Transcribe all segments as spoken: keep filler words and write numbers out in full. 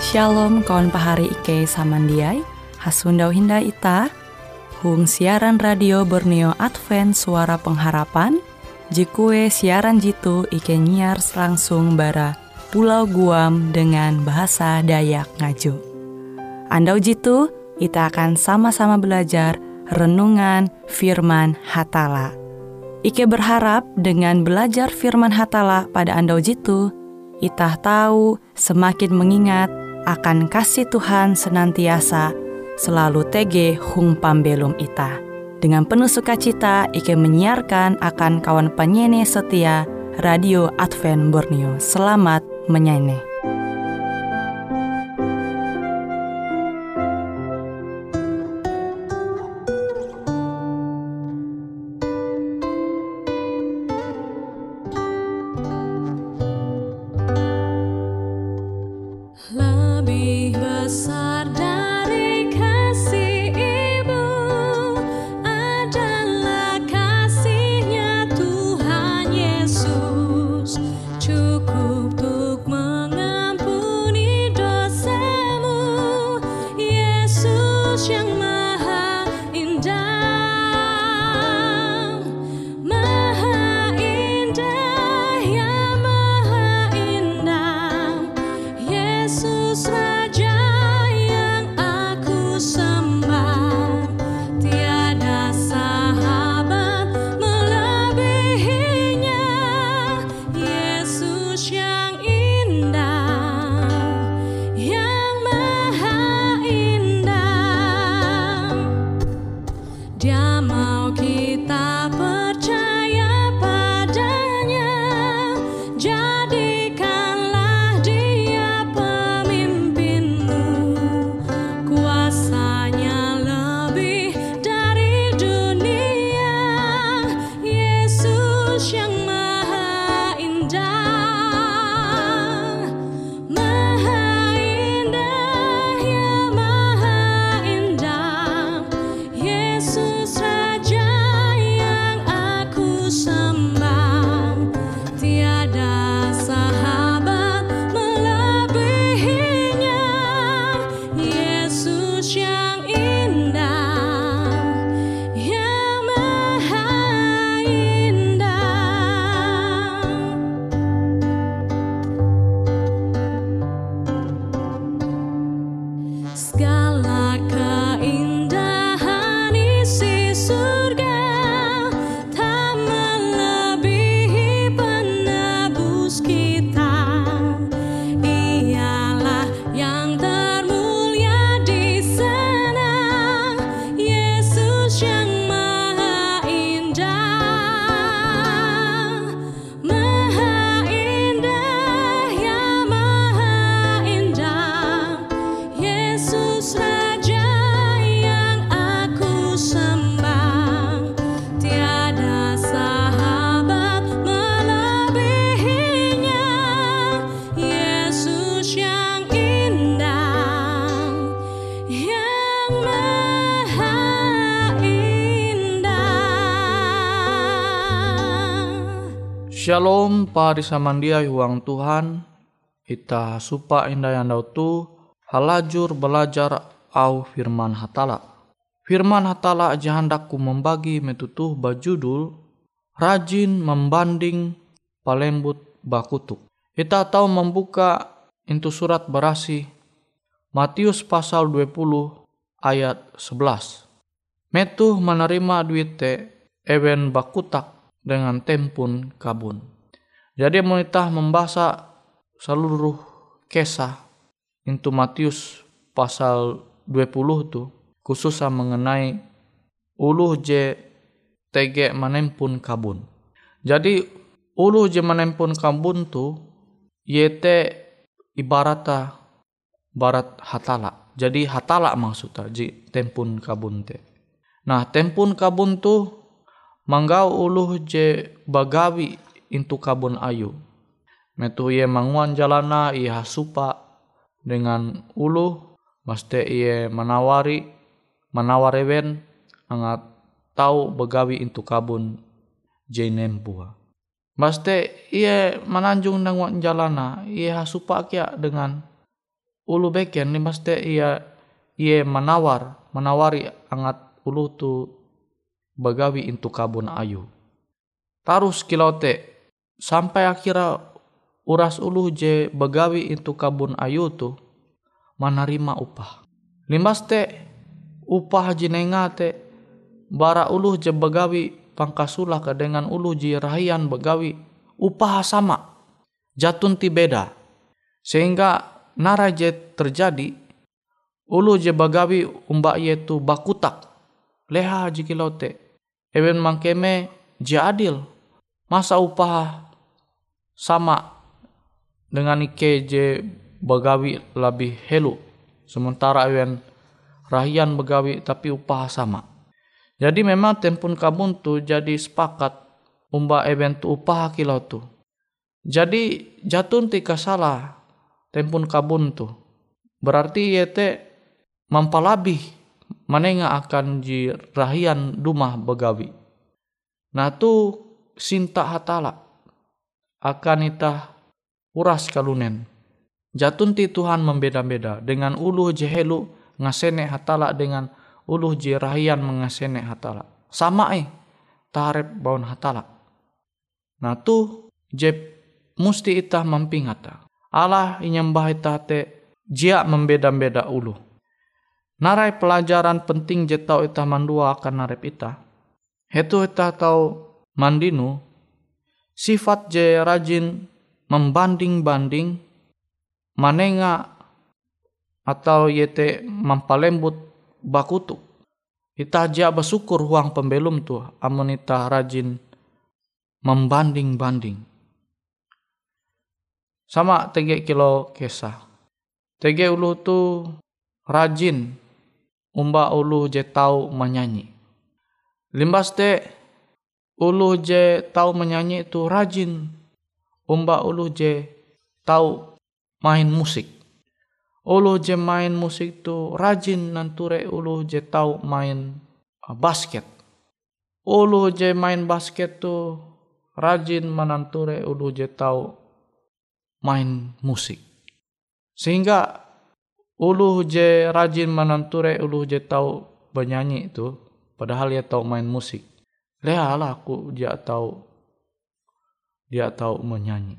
Shalom kawan pahari Ike samandiai, hasundau hinda ita, hung siaran radio Borneo Advent Suara Pengharapan, jikue siaran jitu Ike nyiar langsung bara Pulau Guam dengan bahasa Dayak Ngaju. Andau jitu, kita akan sama-sama belajar renungan firman Hatala. Ike berharap dengan belajar firman Hatala pada andau jitu, kita tahu semakin mengingat akan kasih Tuhan senantiasa selalu tege hung pambelum ita. Dengan penuh sukacita, Ike menyiarkan akan kawan penyanyi setia Radio Advent Borneo. Selamat menyanyi. Shalom pari samandia huang Tuhan, ita supa indah yandau tu halajur belajar au firman Hatala. Firman Hatala jahandaku membagi metutuh bajudul rajin membanding palembut bakutuk. Ita tahu membuka into surat berasi Matius pasal dua puluh ayat sebelas. Metuh menerima duite ewen bakutak dengan tempun kabun. Jadi menitah membaca seluruh kisah into Matius pasal dua puluh tu khususnya mengenai uluh je tege menempun kabun. Jadi uluh je menempun kabun tu yete ibarata barat hatala. Jadi hatala maksudnya je tempun kabun te. Nah, tempun kabun tu manggau uluh je bagawi intu kabun ayu. Metu ye manguan jalana ia supa dengan uluh, mesti ia menawari menawariwen angat tahu begawi intu kabun je nempua. Mesti ia menanjung dengan jalana ia supa kia dengan ulu beken ni mesti ia ia menawar menawari angat ulu tu bagawi intu kabun ayu. Tarus kilau te sampai akhirnya uras ulu je bagawi intu kabun ayu tu menerima upah. Limbas te upah jinenga te bara ulu je bagawi pangkasulah ke dengan ulu je rahian bagawi upah sama. Jatun ti beda. Sehingga nara je terjadi ulu je bagawi umba ye tu bakutak. Leha je kilau te. Ewen mangkeme je adil. Masa upah sama dengan ike je bagawi lebih helu. Sementara ewen rahian bagawi tapi upah sama. Jadi memang tempun kabun tu jadi sepakat umba ewen tu upah kilau tu. Jadi jatun ti kasalah tempun kabun tu. Berarti ye te mampalabih manenga akan ji rahian dumah bagawi. Nah tu sinta hatala akan itah uras kalunen. Jatun ti Tuhan membeda-beda dengan uluh je helu ngasene hatala dengan uluh je rahian mengasene hatala. Sama eh tarep baun hatala. Nah tu je musti itah mampingata. Allah inyembah itah te jia membeda-beda uluh. Narai pelajaran penting je tau itah mandua akan narep itah. Hetu itah tau mandinu sifat je rajin membanding-banding manenga atau yete mampalembut bakutuk. Itah jia bersyukur huang pembelum tu amun itah rajin membanding-banding. Sama tege kilo kesah. Tege ulu tu rajin umba ulu je tau menyanyi. Limbas te ulu je tau menyanyi itu rajin umba ulu je tau main musik. Ulu je main musik tu rajin nanture ulu je tau main basket. Ulu je main basket tu rajin menanture ulu je tau main musik. Sehingga ulu je rajin menanture ulu je tau bernyanyi itu padahal dia tau main musik. Lehalah aku dia tahu dia tahu menyanyi.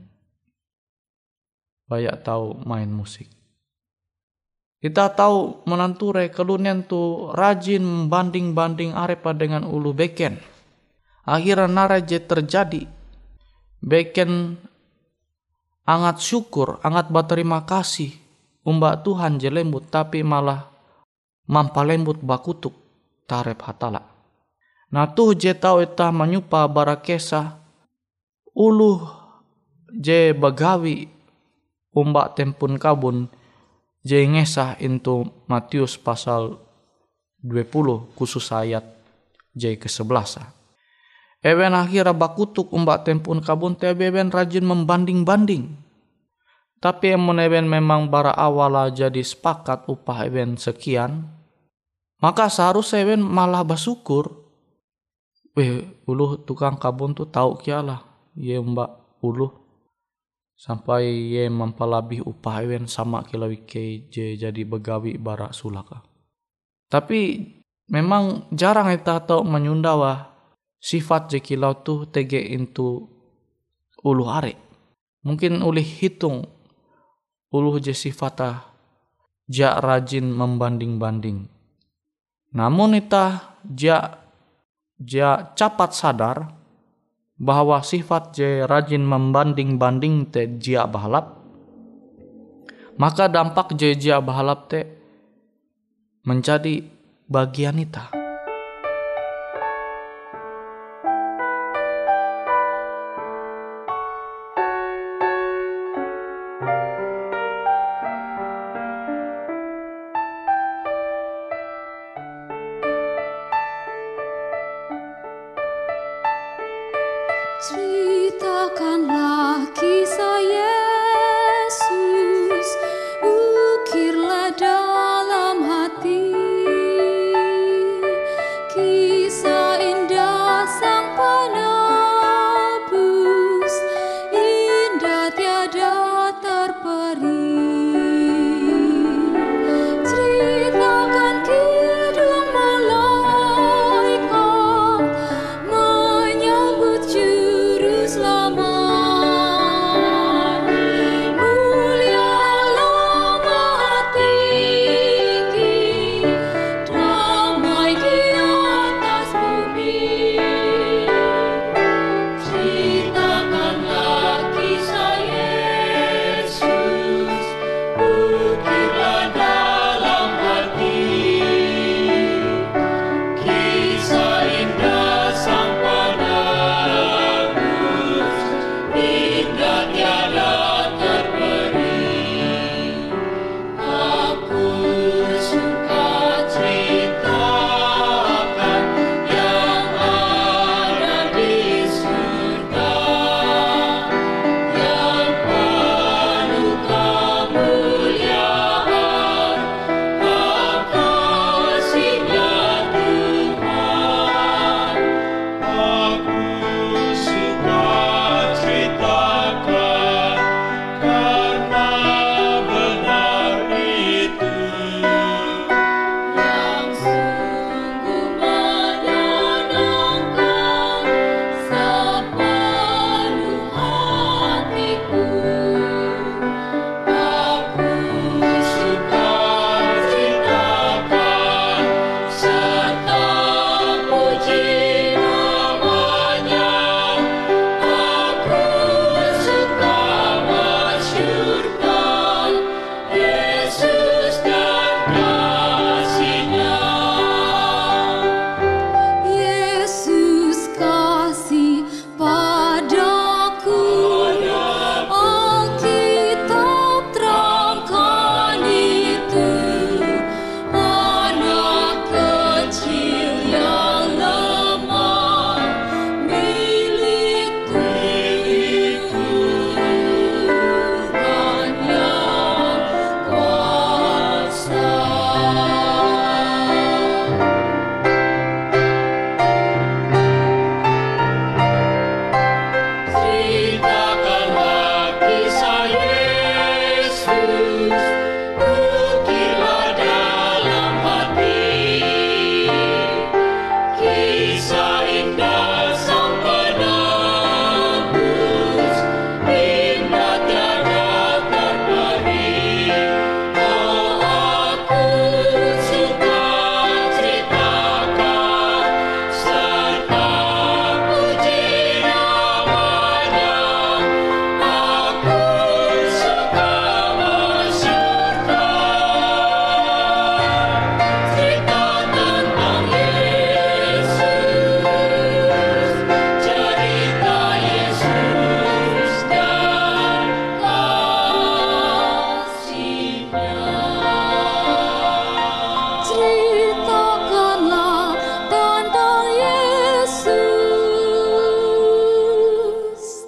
Banyak tahu main musik. Kita tahu menanture kelunian tu rajin membanding-banding arepa dengan ulu beken. Akhirnya naraje terjadi. Beken angat syukur, angat berterima kasih umba Tuhan je lembut tapi malah mampalembut bakutuk tarep hatala. Nah tuh je tau itah menyupa bara kesah uluh je bagawi umba tempun kabun je ngesah into Matius pasal dua puluh khusus ayat je ke sebelas. Ewen akhirnya bakutuk umba tempun kabun te ewen rajin membanding-banding. Tapi emun ewen memang bara awala jadi sepakat upah ewen sekian, maka seharusnya ewen malah bersyukur. Weh, uluh tukang kabun tu tahu kialah, ye mbak uluh sampai ye mempalabih upah ewen sama kilau ike je jadi begawi bara sulaka. Tapi memang jarang kita tahu menyundawa sifat je kilau tu tege into uluh are. Mungkin ulih hitung uluh je sifatah ja rajin membanding-banding. Namun itah ja ja capat sadar bahwa sifat je rajin membanding-banding te jia bahalap, maka dampak je jia bahalap te menjadi bagian ita. Ceritakanlah kisah Yesus, ukirlah dalam hati kisah indah Sang Penebus, indah tiada terperi.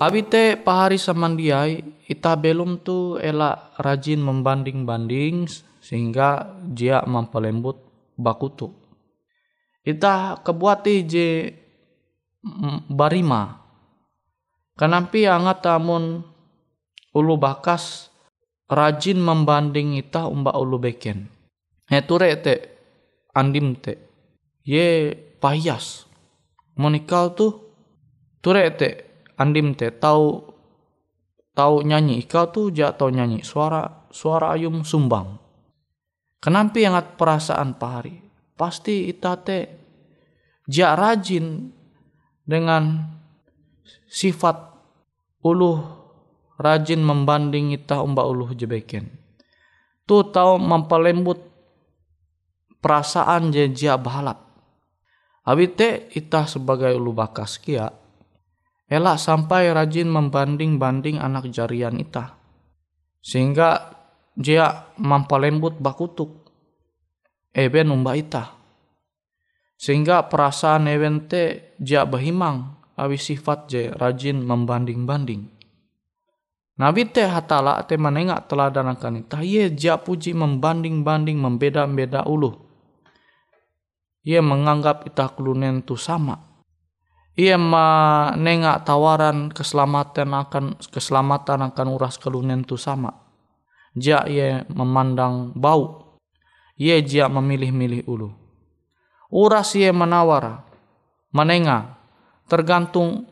Abi te pahari samandiai ita belum tu elak rajin membanding-banding sehingga dia mempelembut bakutu. Ita kebuati je barima. Kenampi angat amun ulu bakas rajin membanding ita umba ulu beken. He ture te andim te ye payas. Monikau tu ture te andim te tahu tahu nyanyi, ikau tu jak tahu nyanyi suara suara ayum sumbang. Kenampi angat perasaan pahari. Pasti ita te jak rajin dengan sifat uluh rajin membanding ita umba uluh jebeken. Tu tahu mempelembut perasaan je jak bahalap. Abite ita sebagai ulu bakas kia elak sampai rajin membanding-banding anak jarian ita. Sehingga dia mempelembut bakutuk eben umba ita. Sehingga perasaan eben te dia bahimang awi sifat je rajin membanding-banding. Nabi te hatala te menengak teladan akan ita. Ye dia puji membanding-banding membeda-beda ulu. Ia menganggap ita kelunen tu sama. Ia menengak tawaran keselamatan akan keselamatan akan uras kelunen tu sama. Dia ia memandang bau. Ia dia memilih-milih ulu. Uras ia menawar, menengah, tergantung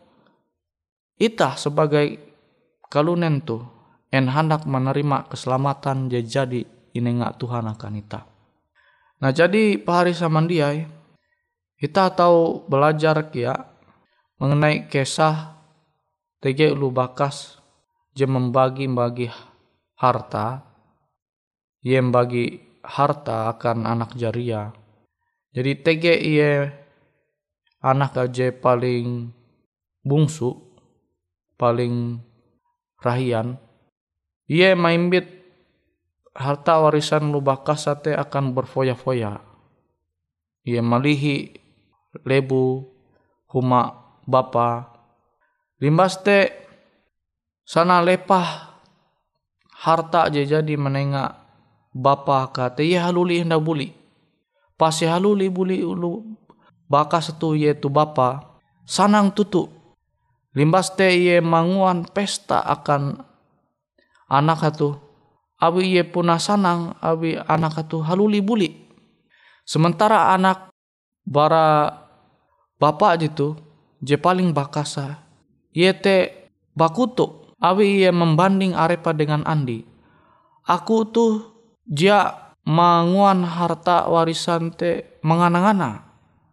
ita sebagai kalunen tu en hendak menerima keselamatan je jadi inengak Tuhan akan ita. Nah jadi pahari samandiai kita tahu belajar kia mengenai kisah tege ulu bakas je membagi-bagi harta, ye membagi harta akan anak jaria. Jadi tege ia anak aja paling bungsu, paling rahian. Ia maimbit harta warisan ulu bakas sate akan berfoya-foya. Ia malihi lebu huma bapa. Limbas te sana lepah harta je jadi menengak bapa kate ia haluli hendak buli. Pasi haluli buli ulu bakas tu ye tu bapa sanang tutu. Limbas te ia manguan pesta akan anak tu. Abi ye puna sanang abi anak tu haluli buli. Sementara anak bara bapak jitu je paling bakasa. Ye te bakutuk abi ye membanding arepa dengan andi. Aku tu dia manguan harta warisan te mengana-ngana.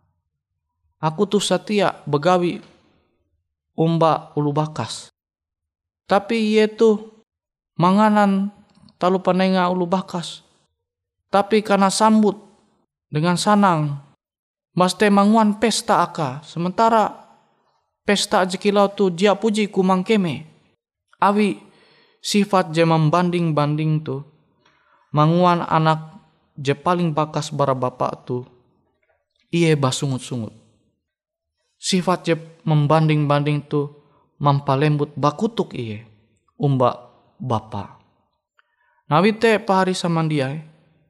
Aku tu setia begawi umba ulu bakas. Tapi ye tu manganan talu panenga ulu bakas. Tapi karena sambut dengan sanang. Mas te manguan pesta aka. Sementara pesta jekilau tu dia puji kumang keme. Awi sifat je membanding-banding tu. Manguan anak je paling bakas bara bapak tu. Iye basungut-sungut. Sifat je membanding-banding tu. Mampalembut bakutuk iye. Umba bapa. Nabi te pahari samandiai.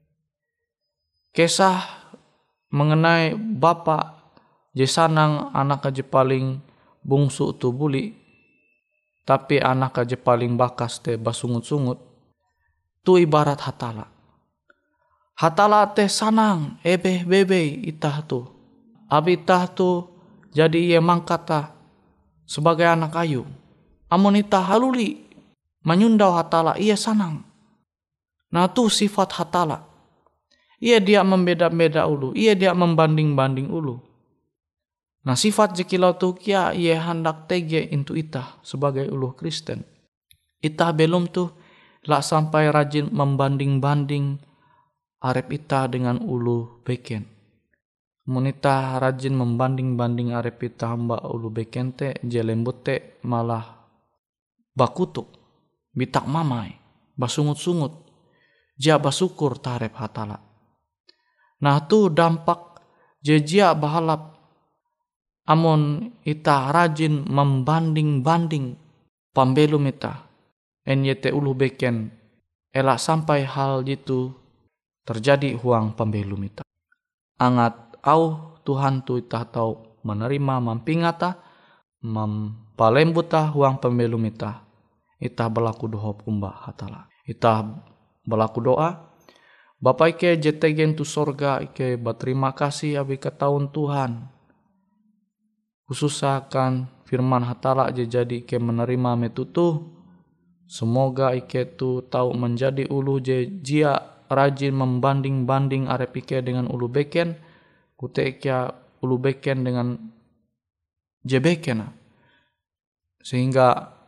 Kisah mengenai bapa je sanang anak aja paling bungsu tu buli. Tapi anak aja paling bakas te basungut-sungut. Tu ibarat hatala. Hatala te sanang ebe bebe itah tu. Abi itah tu jadi ia mangkata sebagai anak ayu. Amun itah haluli menyundau hatala ia sanang. Nah tu sifat hatala. Ia dia membeda-beda ulu. Ia dia membanding-banding ulu. Nah sifat jekilau tu kia ia hendak tege intu itah sebagai ulu Kristen. Itah belum tu lah sampai rajin membanding-banding arep itah dengan ulu beken. Mun itah rajin membanding-banding arep itah hamba ulu beken te jelembut te malah bakutuk, bitak mamai, basungut-sungut, jia basukur tarep hatala. Nah tu dampak jejia bahalap amun itah rajin membanding-banding pambelum ita. En yete ulu beken elak sampai hal itu terjadi huang pambelum ita. Angat au Tuhan tu ita tau menerima mampingata mampalembuta huang pambelum ita. Ita berlaku doa pumba hatala. Ita berlaku doa. Bapa ike jetegen tu sorga ike berterima kasih abi ketahuan Tuhan. Khusus akan firman hatala je jadi ike menerima metutu. Semoga ike tu tahu menjadi ulu je jia rajin membanding-banding arep ike dengan ulu beken. Kute ike ulu beken dengan je beken. Sehingga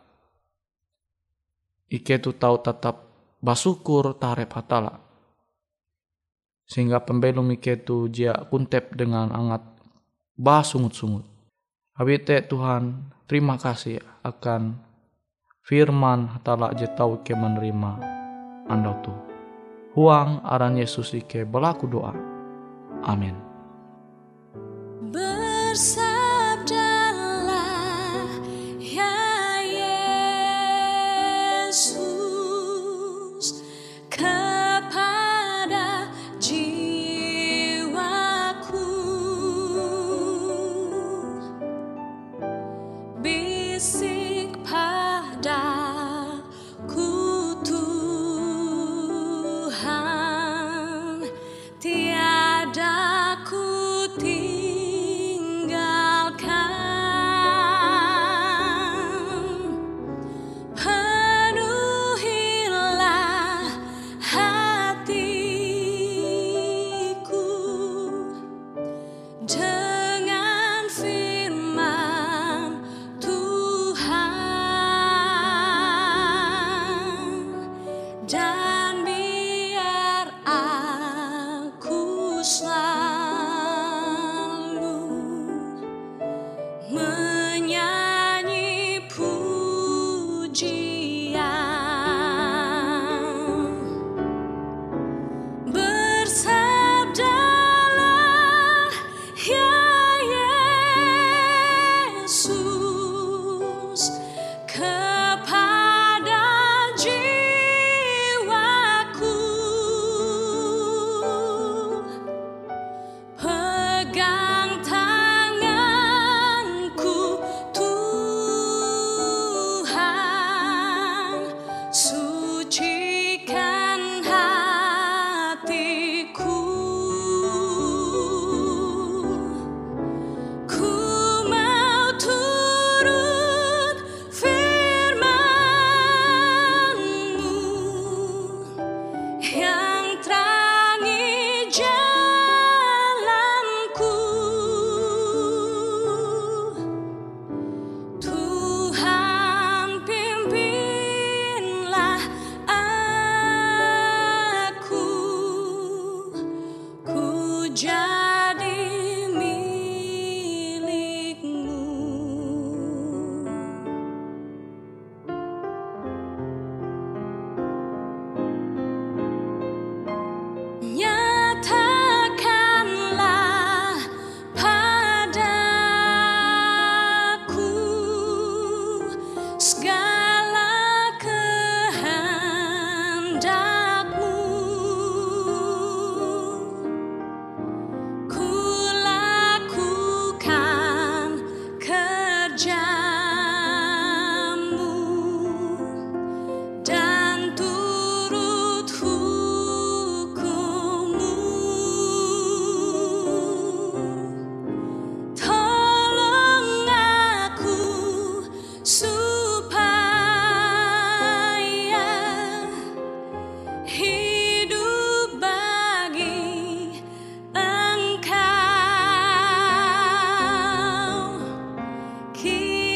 ike tu tahu tetap bersyukur tarep hatala. Sehingga pembelum ike tu jia kuntep dengan angat bah sungut-sungut. Habite Tuhan, terima kasih akan firman hatala je tau ike menerima andau tu. Huang aran Yesus ike berlaku doa. Amin. Bersabdalah ya Yesus kepada jiwaku, bisik padaku Tuhan, tiada ku tinggalkan. Penuhilah hatiku dengan firman Tuhan, dan biar aku selalu menyanyi pujian. Bersabdalah ya Yesus kepada jiwaku, pegang tanganku Tuhan, sucikan hatiku. Ku mau turut firman-Mu yang terangi jalanku. Tuhan pimpinlah aku, ku jadi milik-Mu. Nyatakanlah padaku segala kehendak-Mu. Ku lakukan kerja-Mu dan turut hukum-Mu. Tolong aku supaya hidup bagi Engkau.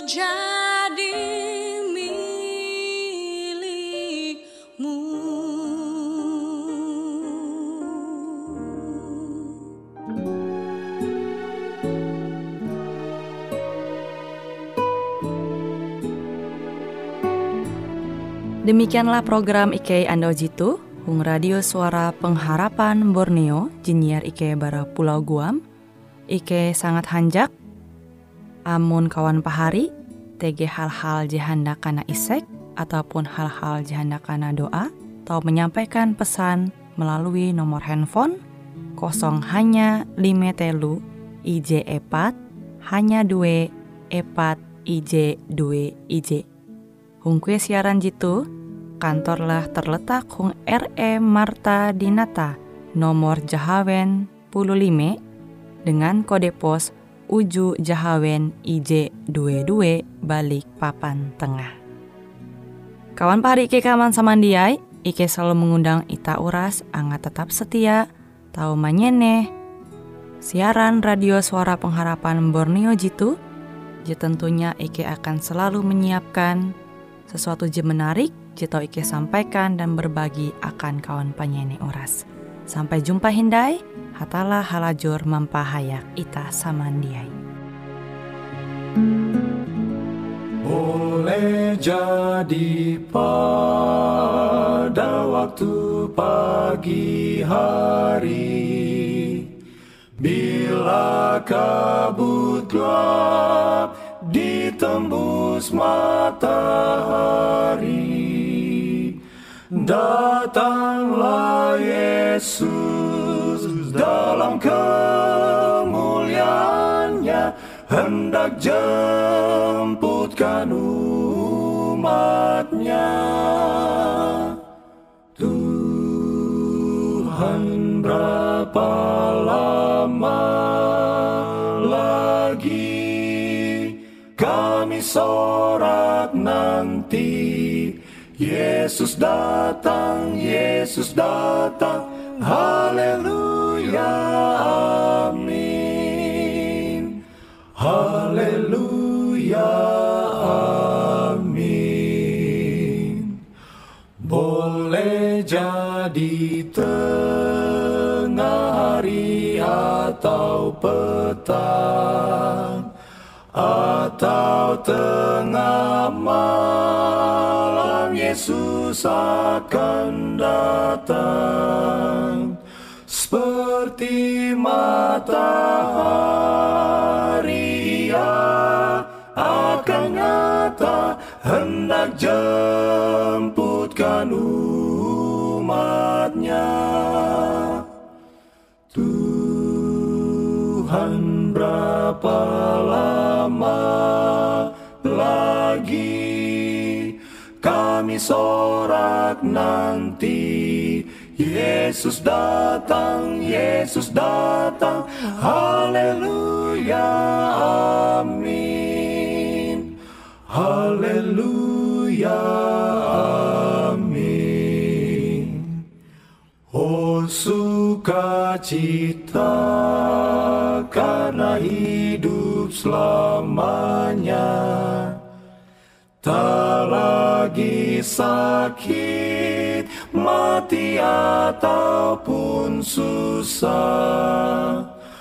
jadi milikmu. Demikianlah program Ike Ando Jitu, Hung Radio Suara Pengharapan Borneo, Jinier Ike bara Pulau Guam. Ike sangat hanjak, amun kawan pahari, tege hal-hal jihanda kana isek, ataupun hal-hal jihanda kana doa, atau menyampaikan pesan melalui nomor handphone kosong hanya lima telu I J epat hanya dua epat I J dua I J. Hung kue siaran jitu, kantorlah terletak Hung R E Marta Dinata, nomor Jahawen puluh lima, dengan kode pos Uju Jahawen I J dua dua balik papan tengah. Kawan pahari Ike kaman samandiai, Ike selalu mengundang ita uras, angga tetap setia, tau manyene, siaran radio Suara Pengharapan Borneo jitu, je tentunya Ike akan selalu menyiapkan sesuatu je menarik, je tau Ike sampaikan dan berbagi akan kawan panyene uras. Sampai jumpa hindai, hatalah halajur mampahayak ita samandiai. Boleh jadi pada waktu pagi hari, bila kabut gelap ditembus matahari, datanglah Yesus dalam kemuliaannya, hendak jemputkan umatnya. Tuhan, berapa lama lagi kami sorak nanti? Yesus datang, Yesus datang, haleluya, amin. Haleluya, amin. Boleh jadi tengah hari atau petang, atau tengah malam, Yesus akan datang. Seperti matahari ia akan nyata, hendak jemputkan umatnya. Tuhan, berapa lama lagi kami sorak nanti? Yesus datang, Yesus datang, haleluya, amin. Haleluya, amin. Oh, sukacita karena hidup selamanya, tak lagi sakit, mati ataupun susah,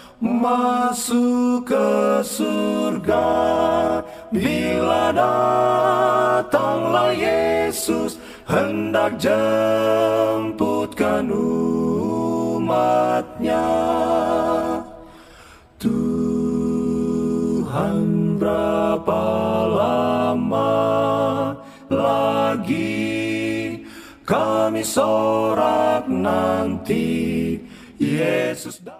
masuk ke surga bila datanglah Yesus, hendak jemputkan umatnya. Tuhan, berapa lama lagi kami sorak nanti? Yesus